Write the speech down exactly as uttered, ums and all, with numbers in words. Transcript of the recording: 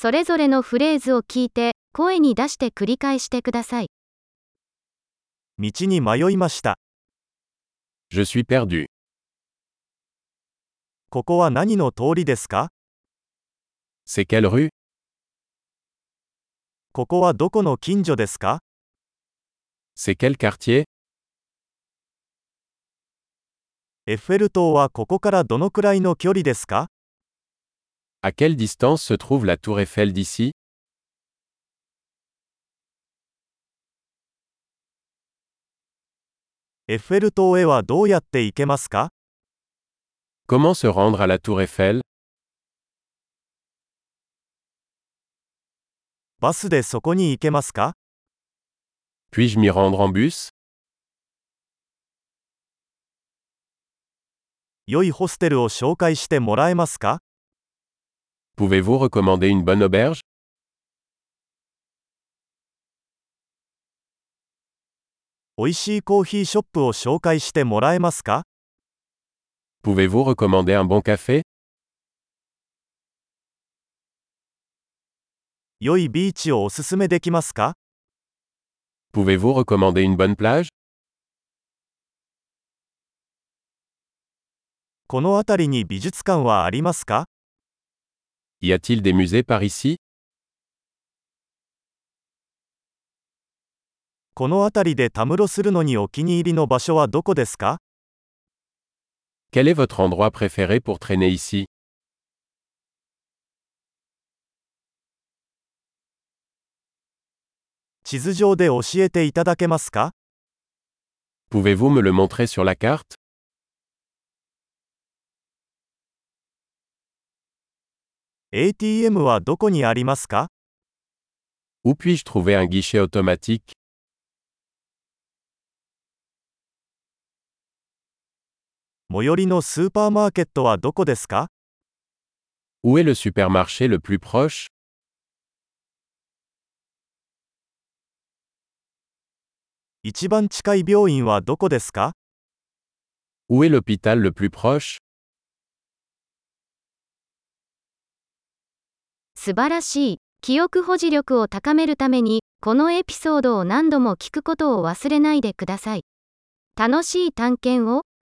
それぞれのフレーズを聞いて、声に出して繰り返してください。 道に迷いました。 Je suis perdu. ここは何の通りですか？ C'est quelle rue? ここはどこの近所ですか？ C'est quel quartier? エッフェル塔はここからどのくらいの距離ですか？ À quelle distance se trouve la tour Eiffel d'ici? エッフェル塔へはどうやって行けますか？ Comment se rendre à la tour Eiffel? バスでそこに行けますか？ Puis-je m'y rendre en bus? 良いホステルを紹介してもらえますか？ Pouvez-vous recommander une bonne auberge? おいしいコーヒーショップを紹介してもらえますか？ Pouvez-vous recommander un bon café? 良いビーチをおすすめできますか？ Pouvez-vous recommander une bonne plage? この辺りに美術館はありますか？ Y a-t-il des musées par ici? この辺りでたむろするのにお気に入りの場所はどこですか？ Quel est votre endroit préféré pour traîner ici? 地図上で教えていただけますか？ Pouvez-vous me le montrer sur la carte? エーティーエム はどこにありますか？ Où puis-je trouver un guichet automatique? 最寄りのスーパーマーケットはどこですか？ Où est le supermarché le plus proche? 一番近い病院はどこですか？ Où est l'hôpital le plus proche? 素晴らしい。記憶保持力を高めるために、このエピソードを何度も聞くことを忘れないでください。楽しい探検を。